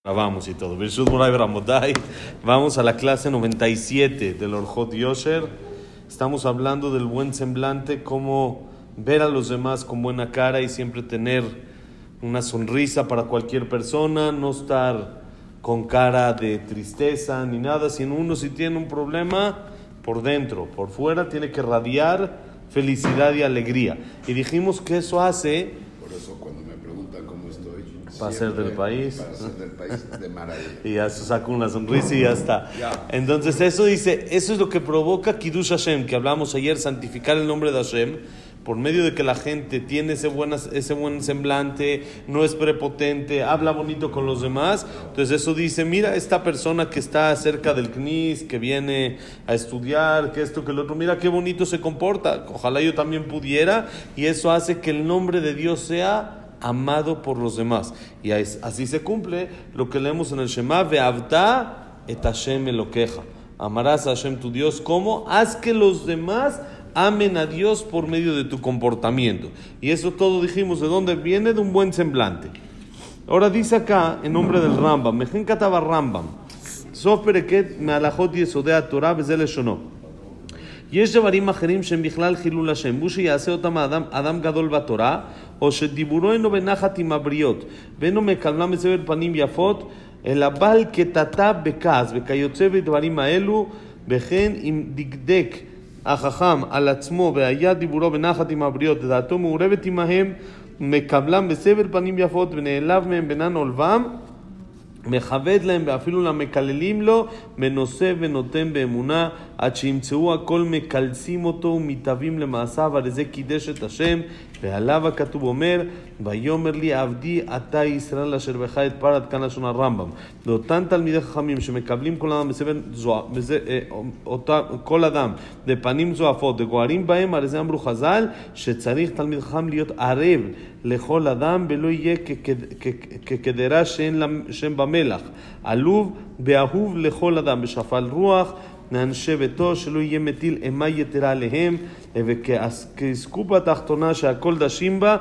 Vamos y todo. Birshut Moray Bramotay. Vamos a la clase 97 del Orjot Yosher. Estamos hablando del buen semblante, cómo ver a los demás con buena cara y siempre tener una sonrisa para cualquier persona, no estar con cara de tristeza ni nada. Si uno si tiene un problema, por dentro, por fuera, tiene que radiar felicidad y alegría. Y dijimos que eso hace... Por eso cuando me preguntan cómo estoy, para ser del país, de maravilla. Y ya se saca una sonrisa y ya está. Entonces eso dice, eso es lo que provoca Kiddush Hashem, que hablamos ayer, santificar el nombre de Hashem, por medio de que la gente tiene ese buen semblante, no es prepotente, habla bonito con los demás. Entonces eso dice, mira, esta persona que está cerca del CNIS, que viene a estudiar, que esto, que lo otro, mira qué bonito se comporta, ojalá yo también pudiera, y eso hace que el nombre de Dios sea amado por los demás. Y así se cumple lo que leemos en el Shema, Ve'avta et Hashem Elokeja. Amarás a Hashem tu Dios. ¿Cómo? Haz que los demás amen a Dios por medio de tu comportamiento. Y eso todo dijimos, ¿de dónde viene? De un buen semblante. Ahora dice acá, en nombre del Rambam, Mejen Kataba Rambam, Sof Pereket Me'alachot Yesodei Torah V'zeh Leshono. יש דברים אחרים שהם בכלל חילול השם, הוא שיעשה אותם אדם גדול בתורה, או שדיבורו אינו בנחת עם הבריות, ואינו מקבלם בסבר פנים יפות, אלא בעל קטטה בכעס, וכיוצא בדברים האלו, וכן אם דקדק החכם על עצמו, והיה דיבורו בנחת עם הבריות, ודעתו מעורבת עמהם, מקבלם בסבר פנים יפות, ונעלב מהם בינן עולבם, מכבד להם ואפילו למקללים לו, מנושא ונותן באמונה, עד שימצאו הכל מקלסים אותו ומתאבים למעשיו, על זה קידש את השם, ועליו הכתוב אומר, ויאמר לי עבדי אתה ישראל אשר בך את פרת, כאן לשון הרמב"ם. ואותן תלמידי חכמים שמקבלים כל אדם כל אדם בפנים זועפות וגוערים בהם, על זה אמרו חז"ל שצריך תלמיד חכם להיות ערב לכל אדם ולא יהיה כקדרה שאין שם במלח, עלוב ואהוב לכל אדם, בשפל רוח לאנשי ביתו, שלא יהיה מטיל אימה יתרה עליהם, וכעסקו בתחתונה שהכל דשים בה,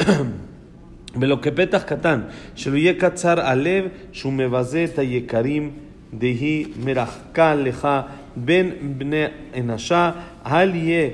ולא כפתח קטן, שלא יהיה קצר הלב, שהוא מבזה את היקרים, דהי מרחקה לך בין בני אנשה, אל יהיה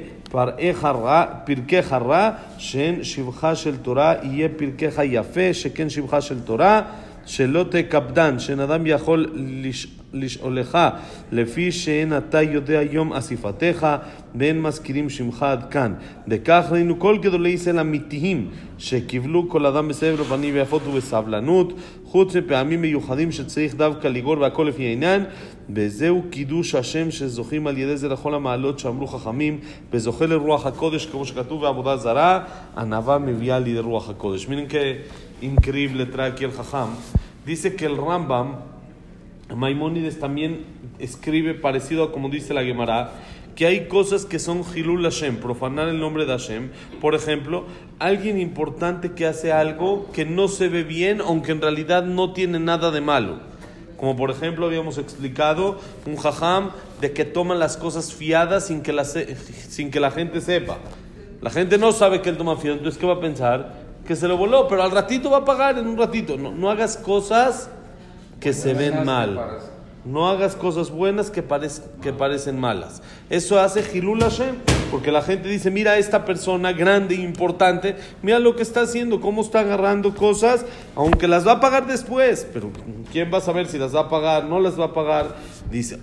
פרקך רע, שאין שבחה של תורה, יהיה פרקך יפה, שכן שבחה של תורה, שלא תקפדן, שאין אדם יכול לשאולך, לפי שאין אתה יודע יום אסיפתך, ואין מזכירים שמך עד כאן. וכך ראינו כל גדולי ישראל אמיתיים, שקיבלו כל אדם בסבר פנים ויפות ובסבלנות, חוץ מפעמים מיוחדים שצריך דווקא לגור והכל לפי העניין, וזהו קידוש השם שזוכים על ידי זה לכל המעלות שאמרו חכמים, וזוכה לרוח הקודש, כמו שכתוב בעבודה זרה, ענווה מביאה לידי רוח הקודש. Miren que increíble trae aquí el Jajam. Dice que el Rambam, Maimónides, también escribe parecido a como dice la Gemara, que hay cosas que son Hilul Hashem, profanar el nombre de Hashem. Por ejemplo, alguien importante que hace algo que no se ve bien, aunque en realidad no tiene nada de malo. Como por ejemplo habíamos explicado, un jajam de que toma las cosas fiadas sin que la gente sepa. La gente no sabe que él toma fiado, entonces ¿qué va a pensar? Que se lo voló, pero al ratito va a pagar, en un ratito. No hagas cosas que se ven mal. No hagas cosas buenas que parecen malas. Eso hace Hilul Hashem, porque la gente dice, mira esta persona grande e importante, mira lo que está haciendo, cómo está agarrando cosas, aunque las va a pagar después, pero ¿quién va a saber si las va a pagar, no las va a pagar? Dice,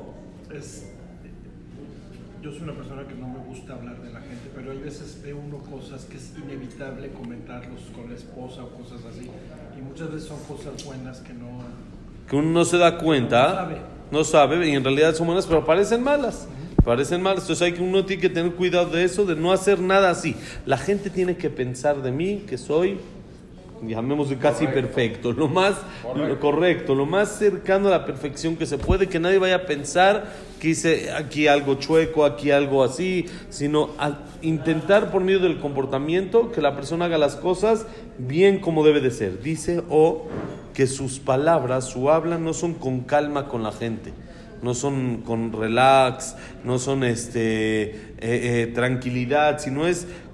yo soy una persona que no me gusta hablar de la gente, pero hay veces ve uno cosas que es inevitable comentarlos con la esposa o cosas así, y muchas veces son cosas buenas que uno no se da cuenta, no sabe, y en realidad son buenas, pero parecen malas. Parecen malas, entonces uno tiene que tener cuidado de eso, de no hacer nada así. La gente tiene que pensar de mí que soy, llamémosle casi perfecto, lo más correcto, lo más cercano a la perfección que se puede, que nadie vaya a pensar que hice aquí algo chueco, aquí algo así, sino a intentar por medio del comportamiento que la persona haga las cosas bien como debe de ser. Dice que sus palabras, su habla no son con calma con la gente, no son con relax, no son tranquilidad, sino es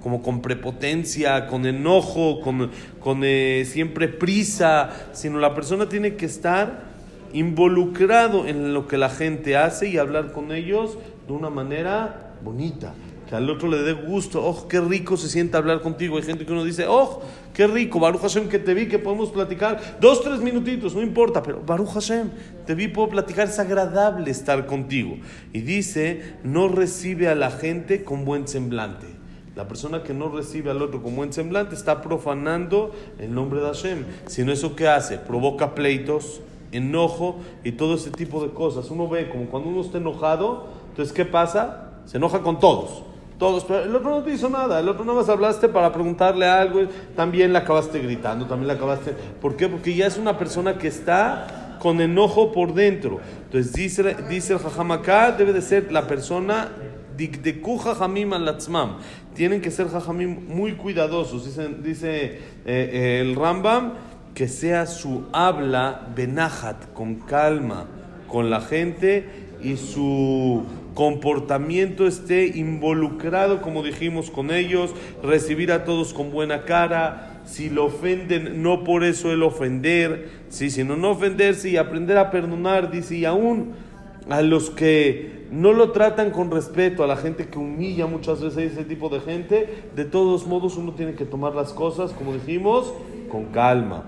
como con prepotencia, con enojo, con siempre prisa, sino la persona tiene que estar involucrado en lo que la gente hace y hablar con ellos de una manera bonita, que al otro le dé gusto. Oh, qué rico se siente hablar contigo. Hay gente que uno dice, oh, qué rico, Baruch Hashem, que te vi, que podemos platicar 2-3 minutitos, no importa, pero Baruch Hashem, te vi, puedo platicar, es agradable estar contigo. Y dice, no recibe a la gente con buen semblante. La persona que no recibe al otro con buen semblante está profanando el nombre de Hashem. Si no, ¿eso qué hace? Provoca pleitos, enojo y todo ese tipo de cosas. Uno ve como cuando uno está enojado, entonces ¿qué pasa? Se enoja con todos, pero el otro no te hizo nada, el otro nada más hablaste para preguntarle algo, también le acabaste gritando, también le acabaste. ¿Por qué? Porque ya es una persona que está con enojo por dentro. Entonces dice el Jajam acá, debe de ser la persona dikdeku jajamim alatzmam. Tienen que ser jajamim muy cuidadosos. Dice el Rambam, que sea su habla benajat, con calma, con la gente, y su comportamiento esté involucrado, como dijimos, con ellos, recibir a todos con buena cara. Si lo ofenden, no por eso el ofender, ¿sí? Sino no ofenderse y aprender a perdonar, dice, y aún a los que no lo tratan con respeto, a la gente que humilla muchas veces, ese tipo de gente, de todos modos uno tiene que tomar las cosas, como dijimos, con calma.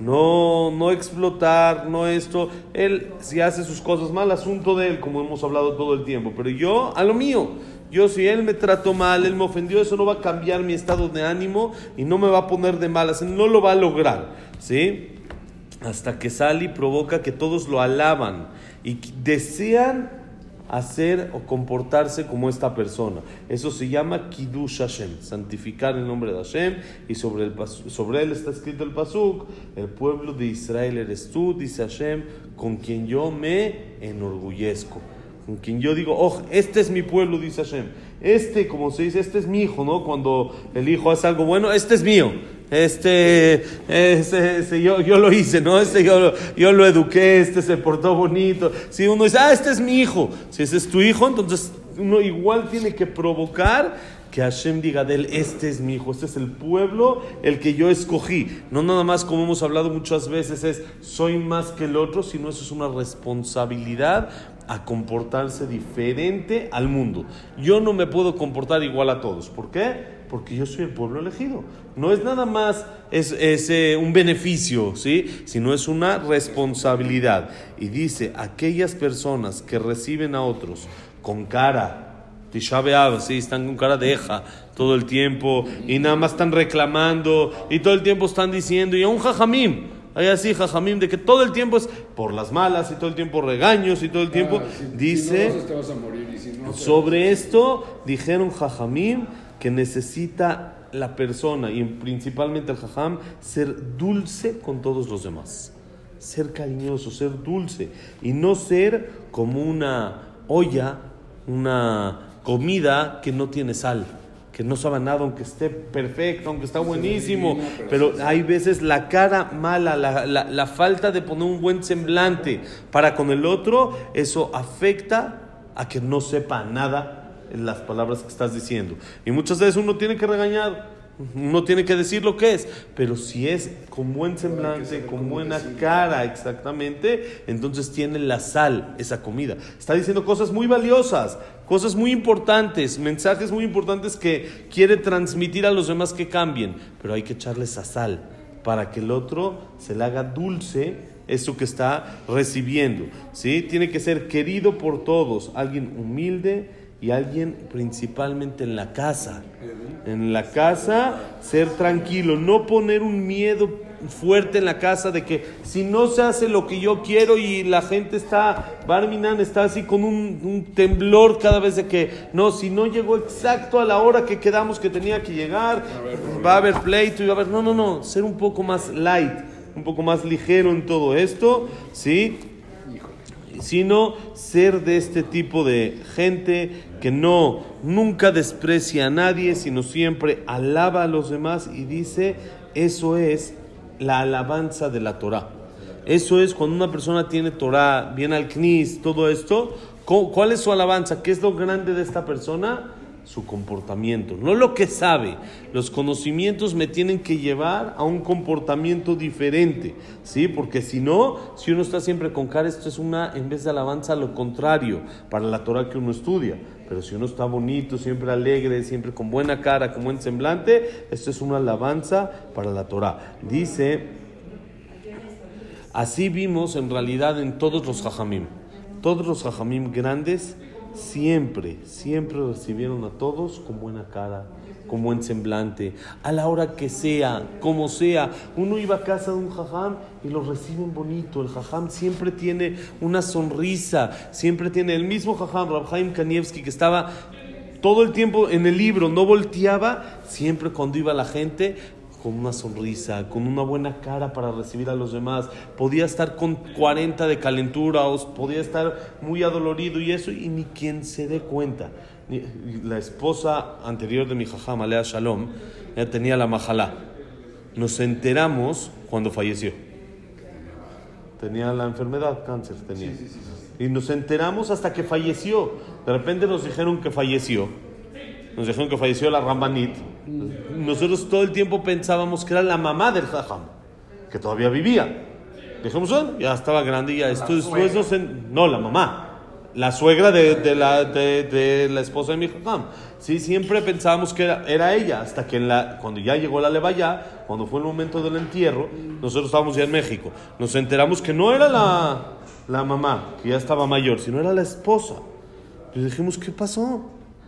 No explotar, no esto. Él, si hace sus cosas mal, asunto de él, como hemos hablado todo el tiempo. Pero yo, a lo mío. Yo, si él me trató mal, él me ofendió, eso no va a cambiar mi estado de ánimo y no me va a poner de malas. No lo va a lograr, ¿sí? Hasta que sale y provoca que todos lo alaban y desean hacer o comportarse como esta persona. Eso se llama Kiddush Hashem, santificar el nombre de Hashem. Y sobre él está escrito el pasuk: el pueblo de Israel eres tú, dice Hashem, con quien yo me enorgullezco, con quien yo digo, oh, este es mi pueblo, dice Hashem. Como se dice, este es mi hijo, ¿no? Cuando el hijo hace algo bueno, este es mío. Yo lo hice, ¿no? Yo lo eduqué, se portó bonito. Si uno dice, este es mi hijo, si ese es tu hijo, entonces uno igual tiene que provocar que Hashem diga de él, este es mi hijo, este es el pueblo, el que yo escogí. No nada más, como hemos hablado muchas veces, es soy más que el otro, sino eso es una responsabilidad a comportarse diferente al mundo. Yo no me puedo comportar igual a todos. ¿Por qué? Porque yo soy el pueblo elegido. No es nada más un beneficio, ¿sí? Sino es una responsabilidad. Y dice, aquellas personas que reciben a otros con cara Tisha B'Av, ¿sí? Están con cara de eja todo el tiempo y nada más están reclamando y todo el tiempo están diciendo, y a un jajamim, hay así jajamim de que todo el tiempo es por las malas y todo el tiempo regaños y todo el tiempo, dice, si no te vas a morir, y si no, sobre esto dijeron jajamim que necesita la persona y principalmente el jajam ser dulce con todos los demás, ser cariñoso, ser dulce y no ser como una olla, una comida que no tiene sal, que no sabe nada, aunque esté perfecto, aunque está buenísimo, pero hay veces la cara mala, la falta de poner un buen semblante para con el otro, eso afecta a que no sepa nada en las palabras que estás diciendo. Y muchas veces uno tiene que regañar, uno tiene que decir lo que es, pero si es con buen semblante, con buena cara, exactamente, entonces tiene la sal esa comida. Está diciendo cosas muy valiosas, cosas muy importantes, mensajes muy importantes que quiere transmitir a los demás que cambien, pero hay que echarle esa sal para que el otro se le haga dulce eso que está recibiendo, ¿sí? Tiene que ser querido por todos, alguien humilde y alguien principalmente en la casa. En la casa, ser tranquilo, no poner un miedo fuerte en la casa de que si no se hace lo que yo quiero y la gente está, Barminan está así con un temblor cada vez de que, no, si no llegó exacto a la hora que quedamos que tenía que llegar, va a haber pleito y va a haber, no, ser un poco más light, un poco más ligero en todo esto, ¿sí? Sino ser de este tipo de gente que nunca desprecia a nadie, sino siempre alaba a los demás y dice, eso es la alabanza de la Torah. Eso es cuando una persona tiene Torah, viene al Knis, todo esto, ¿cuál es su alabanza? ¿Qué es lo grande de esta persona? su comportamiento, no lo que sabe. Los conocimientos me tienen que llevar a un comportamiento diferente, ¿sí? Porque si no, si uno está siempre con cara, esto es en vez de alabanza, lo contrario, para la Torah que uno estudia. Pero si uno está bonito, siempre alegre, siempre con buena cara, con buen semblante, esto es una alabanza para la Torah. Dice, así vimos en realidad en todos los jajamim. Todos los jajamim grandes siempre recibieron a todos con buena cara, con buen semblante, a la hora que sea, como sea. Uno iba a casa de un jajam y lo reciben bonito. El jajam siempre tiene una sonrisa, siempre tiene el mismo jajam, Rab Chaim Kanievski, que estaba todo el tiempo en el libro, no volteaba, siempre cuando iba la gente, con una sonrisa, con una buena cara para recibir a los demás. Podía estar con 40 de calentura o podía estar muy adolorido y eso, y ni quien se dé cuenta. La esposa anterior de mi jajam, Alea Shalom, ella tenía la majalá. Nos enteramos cuando falleció. Tenía la enfermedad, cáncer tenía. Y nos enteramos hasta que falleció. De repente nos dijeron que falleció. Nos dijeron que falleció la Rambanit. Nosotros todo el tiempo pensábamos que era la mamá del jajam, que todavía vivía. Dijimos, bueno, ya estaba grande y ya. Después no, la mamá. La suegra de la esposa de mi jajam. Sí, siempre pensábamos que era ella, hasta que cuando ya llegó la levaya, cuando fue el momento del entierro, nosotros estábamos ya en México, nos enteramos que no era la mamá, que ya estaba mayor, sino era la esposa. Y dijimos, ¿qué pasó?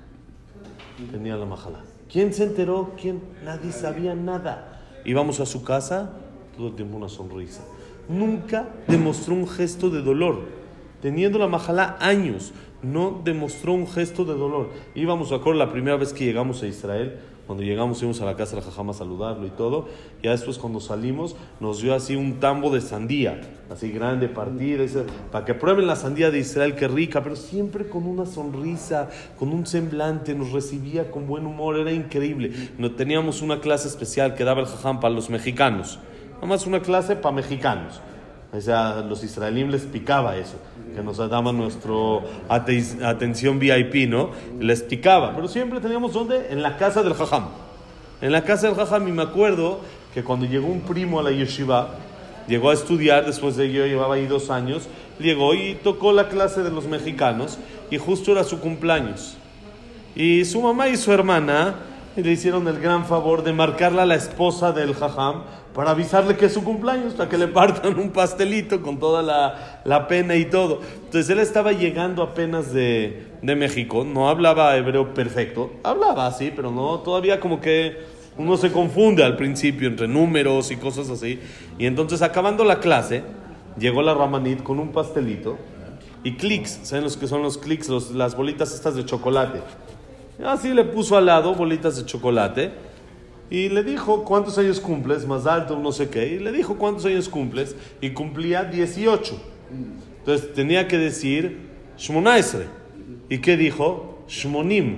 Tenía la majalá. ¿Quién se enteró? ¿Quién? Nadie sabía nada. Íbamos a su casa, todo el tiempo una sonrisa. Nunca demostró un gesto de dolor. Teniendo la majalá años, no demostró un gesto de dolor. Íbamos, a acuerdo, la primera vez que llegamos a Israel, cuando llegamos íbamos a la casa del jajam a saludarlo y todo. Ya después cuando salimos nos dio así un tambo de sandía, así grande, partida, para que prueben la sandía de Israel, qué rica, pero siempre con una sonrisa, con un semblante, nos recibía con buen humor, era increíble. No teníamos una clase especial que daba el jajam para los mexicanos, nada más una clase para mexicanos. O sea, los israelíes les picaba eso, que nos daban nuestro atención VIP, ¿no? Les picaba, pero siempre teníamos ¿dónde? En la casa del jajam. En la casa del jajam, y me acuerdo que cuando llegó un primo a la yeshiva, llegó a estudiar, después de que yo llevaba ahí 2 años, llegó y tocó la clase de los mexicanos, y justo era su cumpleaños. Y su mamá y su hermana le hicieron el gran favor de marcarla a la esposa del jajam, para avisarle que es su cumpleaños, para que le partan un pastelito con toda la pena y todo. Entonces él estaba llegando apenas de México, no hablaba hebreo perfecto, hablaba así, pero no, todavía como que uno se confunde al principio entre números y cosas así. Y entonces acabando la clase, llegó la Ramanit con un pastelito y clics, ¿saben los que son los clics? Las bolitas estas de chocolate. Así le puso al lado bolitas de chocolate. Y le dijo, ¿cuántos años cumples? Más alto, no sé qué. Y le dijo, ¿cuántos años cumples? Y cumplía 18. Entonces tenía que decir, Shmonaesre. ¿Y qué dijo? Shmonim.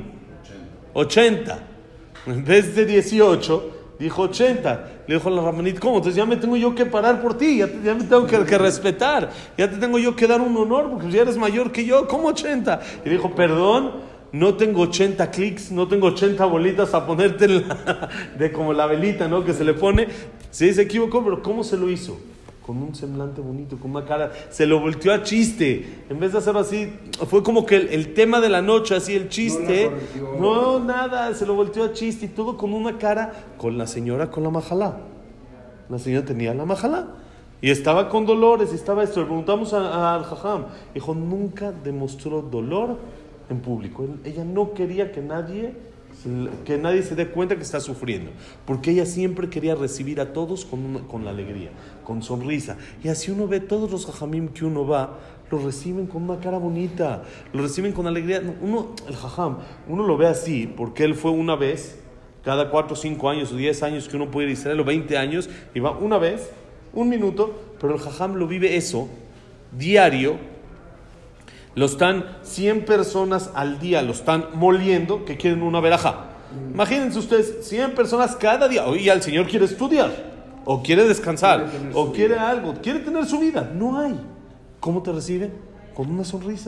80. En vez de 18, dijo 80. Le dijo a la Ramanit, ¿cómo? Entonces ya me tengo yo que parar por ti. Ya me tengo que respetar. Ya te tengo yo que dar un honor, porque ya eres mayor que yo. ¿Cómo 80? Y dijo, perdón. No tengo 80 clics, no tengo 80 bolitas a ponerte de como la velita, ¿no? Que se le pone. Sí, se equivocó, pero ¿cómo se lo hizo? Con un semblante bonito, con una cara. Se lo volteó a chiste. En vez de hacerlo así, fue como que el tema de la noche, así el chiste. No, nada, se lo volteó a chiste y todo con una cara. Con la señora con la majalá. La señora tenía la majalá. Y estaba con dolores, y estaba esto. Le preguntamos al jajam. Dijo, nunca demostró dolor en público. Ella no quería que nadie se dé cuenta que está sufriendo, porque ella siempre quería recibir a todos con la alegría, con sonrisa. Y así uno ve todos los jajamim que uno va, lo reciben con una cara bonita, lo reciben con alegría. El jajam, uno lo ve así porque él fue una vez cada 4 o 5 años o 10 años que uno puede ir a Israel, o 20 años, y va una vez, 1 minuto, pero el jajam lo vive eso diario. Lo están 100 personas al día, lo están moliendo, que quieren una verajá. Imagínense ustedes, 100 personas cada día. Oye, el Señor quiere estudiar, o quiere descansar, o quiere algo, quiere tener su vida. No hay. ¿Cómo te reciben? Con una sonrisa.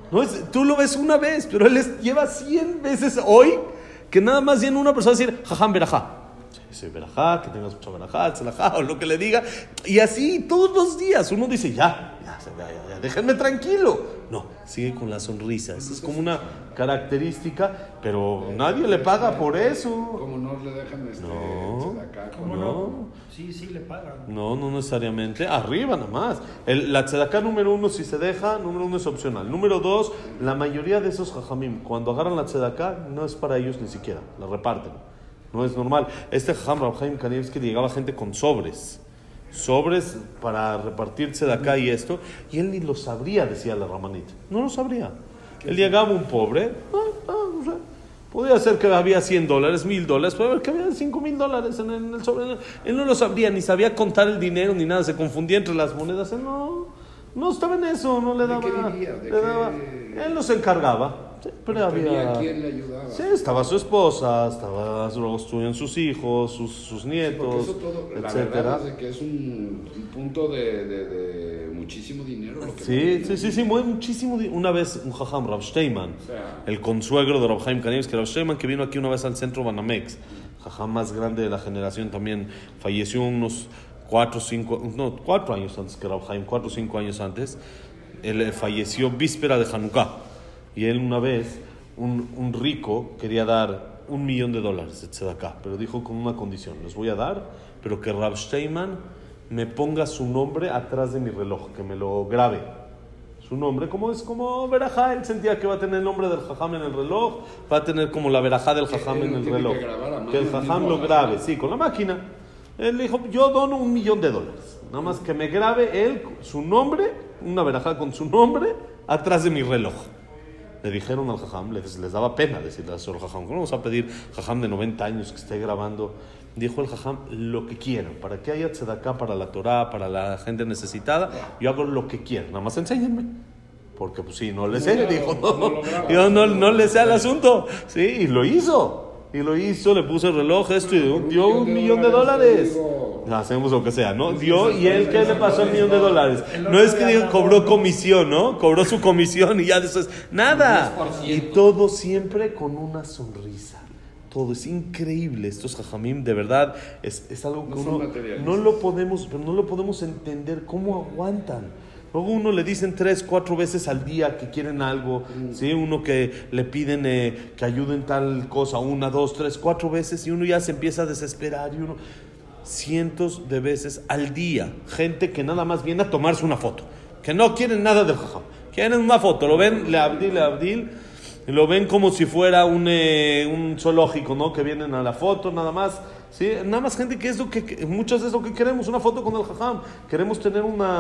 No tú lo ves una vez, pero él lleva 100 veces hoy que nada más viene una persona a decir, jajam verajá. Sí, verajá, que tengas mucha verajá, tzalajá, o lo que le diga. Y así todos los días uno dice, ya, déjenme tranquilo. No, sigue con la sonrisa. Esa es como una característica, pero nadie le paga por eso. ¿Cómo no le dejan tzedaká? ¿Cómo no? Sí, le pagan. No necesariamente. Arriba nada más. La tzedaká número 1, si se deja, número 1 es opcional. Número 2, la mayoría de esos jajamim, cuando agarran la tzedaká, no es para ellos ni siquiera. La reparten. No es normal. Este jajam, Rab Chaim Kanievski, llegaba gente con sobres para repartir tzedaká y esto, y él ni lo sabría, decía la ramanita. No lo sabría. Él llegaba un pobre, o sea, podía ser que había $100, $1,000, puede haber que había $5,000 en el sobre. Él no lo sabría, ni sabía contar el dinero ni nada, se confundía entre las monedas. Él no estaba en eso, no le daba. Él no se encargaba. Pero había ¿quién le ayudaba? Sí, estaba su esposa, luego estuvieron sus hijos, sus nietos, eso todo, etcétera. La verdad es que es un punto de muchísimo dinero. Lo que sí, muchísimo dinero. Una vez un jajam, Rav Steinman, el consuegro de Rab Chaim Kanievski, Rav Steinman, que vino aquí una vez al centro Banamex, jajam más grande de la generación también, falleció unos 4 años antes que Rab Chaim, 4 o 5 años antes. Él falleció víspera de Hanukkah. Y él una vez, un rico quería dar $1,000,000 de tzedakah, pero dijo con una condición: les voy a dar, pero que Rav Steinman me ponga su nombre atrás de mi reloj, que me lo grabe. Su nombre, como verajá, él sentía que va a tener el nombre del jajam en el reloj, va a tener como la verajá del jajam en el reloj. Que el jajam lo grabe, sí, con la máquina. Él dijo, yo dono $1,000,000, nada más que me grabe él su nombre, una verajá con su nombre, atrás de mi reloj. Le dijeron al jajam, les daba pena decirle al señor jajam, ¿cómo vamos a pedir jajam de 90 años que esté grabando? Dijo el jajam, lo que quieran, para que haya tzedaká para la Torah, para la gente necesitada, yo hago lo que quieran, nada más enséñenme. Porque pues sí, no le sé, dijo, yo no le sé al asunto. Sí, y lo hizo, le puso el reloj, esto, y dio $1,000,000. Hacemos lo que sea, ¿no? Dio, y él, ¿qué le pasó al $1,000,000? No es que digo, cobró comisión, ¿no? Cobró su comisión y ya después, nada. Y todo siempre con una sonrisa. Todo es increíble. Estos jajamim, de verdad, es algo que uno no lo podemos entender cómo aguantan. Luego uno le dicen 3, 4 veces al día que quieren algo, ¿sí? Uno que le piden que ayuden tal cosa, 1, 2, 3, 4 veces, y uno ya se empieza a desesperar, y uno cientos de veces al día, gente que nada más viene a tomarse una foto, que no quieren nada del jajam, quieren una foto, lo ven, le abdil, lo ven como si fuera un zoológico, ¿no? Que vienen a la foto nada más. Sí, nada más gente que es lo que muchas es lo que queremos, una foto con el jajam, queremos tener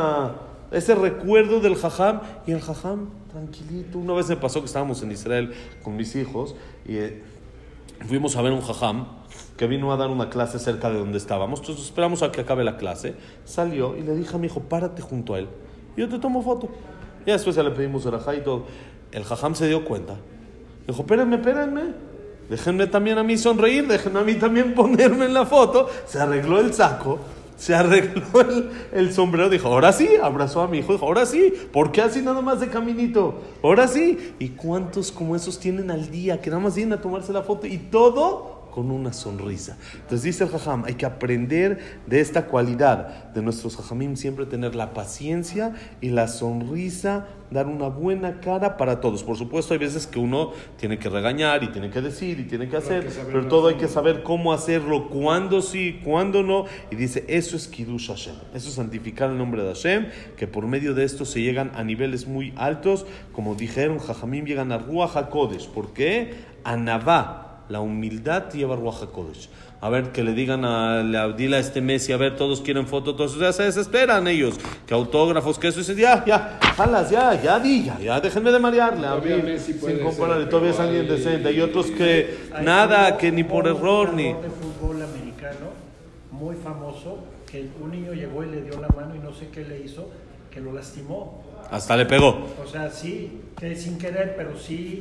ese recuerdo del jajam, y el jajam tranquilito. Una vez me pasó que estábamos en Israel con mis hijos y fuimos a ver un jajam que vino a dar una clase cerca de donde estábamos. Entonces esperamos a que acabe la clase. Salió y le dije a mi hijo, párate junto a él, yo te tomo foto. Y después ya le pedimos verajá y todo. El jajam se dio cuenta, dijo, espérenme, déjenme también a mí sonreír, déjenme a mí también ponerme en la foto. Se arregló el saco, se arregló el sombrero, dijo, ahora sí, abrazó a mi hijo, dijo, ahora sí, ¿por qué así nada más de caminito? Ahora sí. ¿Y cuántos como esos tienen al día que nada más vienen a tomarse la foto y todo con una sonrisa? Entonces dice el jajam, hay que aprender de esta cualidad de nuestros jajamim, siempre tener la paciencia y la sonrisa, dar una buena cara para todos. Por supuesto, hay veces que uno tiene que regañar y tiene que decir y tiene que hacer, pero todo hay que saber cómo hacerlo, cuándo sí, cuándo no. Y dice, eso es Kiddush Hashem, eso es santificar el nombre de Hashem, que por medio de esto se llegan a niveles muy altos. Como dijeron, jajamim llegan a Ruach HaKodesh. ¿Por qué? A Navá. La humildad lleva Ruach HaKodesh. A ver, que le digan dile a este Messi, a ver, todos quieren foto, todos ya se desesperan ellos, que autógrafos, que eso, y ya, jalas, ya, déjenme de marearle, a mí, sin compararle, todavía es alguien decente, hay otros que nada, que ni por error, ni... de fútbol americano, muy famoso, que un niño llegó y le dio la mano y no sé qué le hizo, que lo lastimó. Hasta le pegó. O sea, sí, que sin querer, pero sí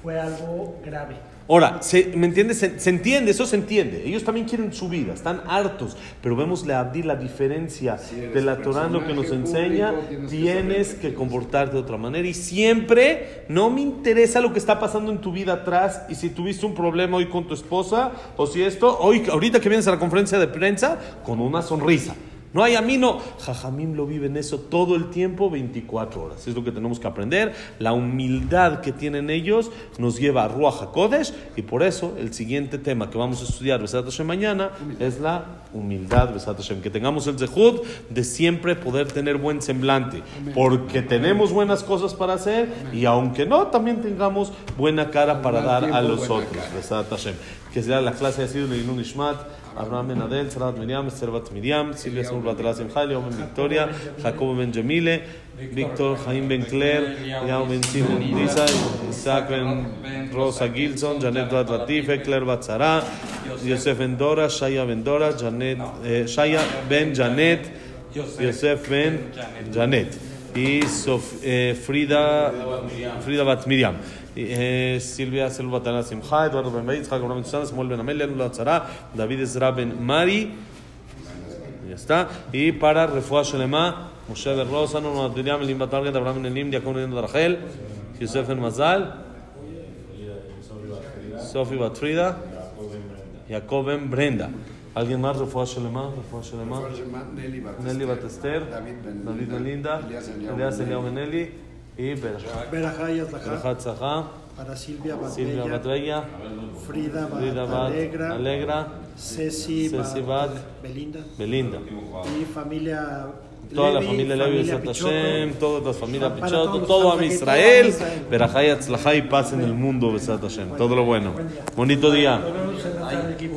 fue algo grave. Ahora, ¿me entiendes? Se entiende, eso se entiende. Ellos también quieren su vida, están hartos. Pero vemos la diferencia de la Torah, lo que nos enseña. Tienes que comportarte de otra manera. Y siempre, no me interesa lo que está pasando en tu vida atrás. Y si tuviste un problema hoy con tu esposa, o si ahorita que vienes a la conferencia de prensa, con una sonrisa. No hay amino. Jajamim lo viven eso todo el tiempo, 24 horas. Es lo que tenemos que aprender. La humildad que tienen ellos nos lleva a Ruach HaKodesh. Y por eso el siguiente tema que vamos a estudiar Besat Hashem mañana es la humildad Besat Hashem. Que tengamos el zehut de siempre poder tener buen semblante. Porque tenemos buenas cosas para hacer. Y aunque no, también tengamos buena cara para dar a los otros. Besat Hashem. Que sea la clase ha sido Leilun Ishmat, Abraham Ben Adel, Sarat Miriam, Esther Bat Miriam, Silvia Saúl Batala Simcha, Leo Ben Victoria, Jacobo Ben Jamile, Víctor Jaime Ben Claire, Liao Ben Simon Disa, Isaac Ben Rosa Gilson, Janet Bat Latife, Claire Bat Sara, Yosef Ben Dora, Shaya Ben Dora, Shaya Ben Janet, Yosef Ben Janet y Frida Bat Miriam. Silvia Selva Batana Simcha, Eduardo Ben Beitz, Jacob Ben Susana, Samuel Ben Amelia, Lula Tzara, David Ezra Ben Mari, ya está. Y para Refuah Shelema, Moshe Ben Rosa, Nono Adrián, Elim Batarget, Abraham Ben Elim, Diakon Ben Rachel, Yosef Ben Mazal, Sofi Batfrida, Jacob Ben Brenda. ¿Alguien más? Refuah Shelema, Nelly Batester, David Ben Linda, Elias Eliao Ben Eli. Y Berajá Tzahá, para Silvia Batbella, Frida Bat Alegra, Ceci Bat Belinda. Y familia toda la familia Levi, Besat Hashem, todas las familias Pichoto, todo a Israel, Berajá y Tzlajá y paz en el mundo, Besat Hashem. Todo lo bueno. Bonito día.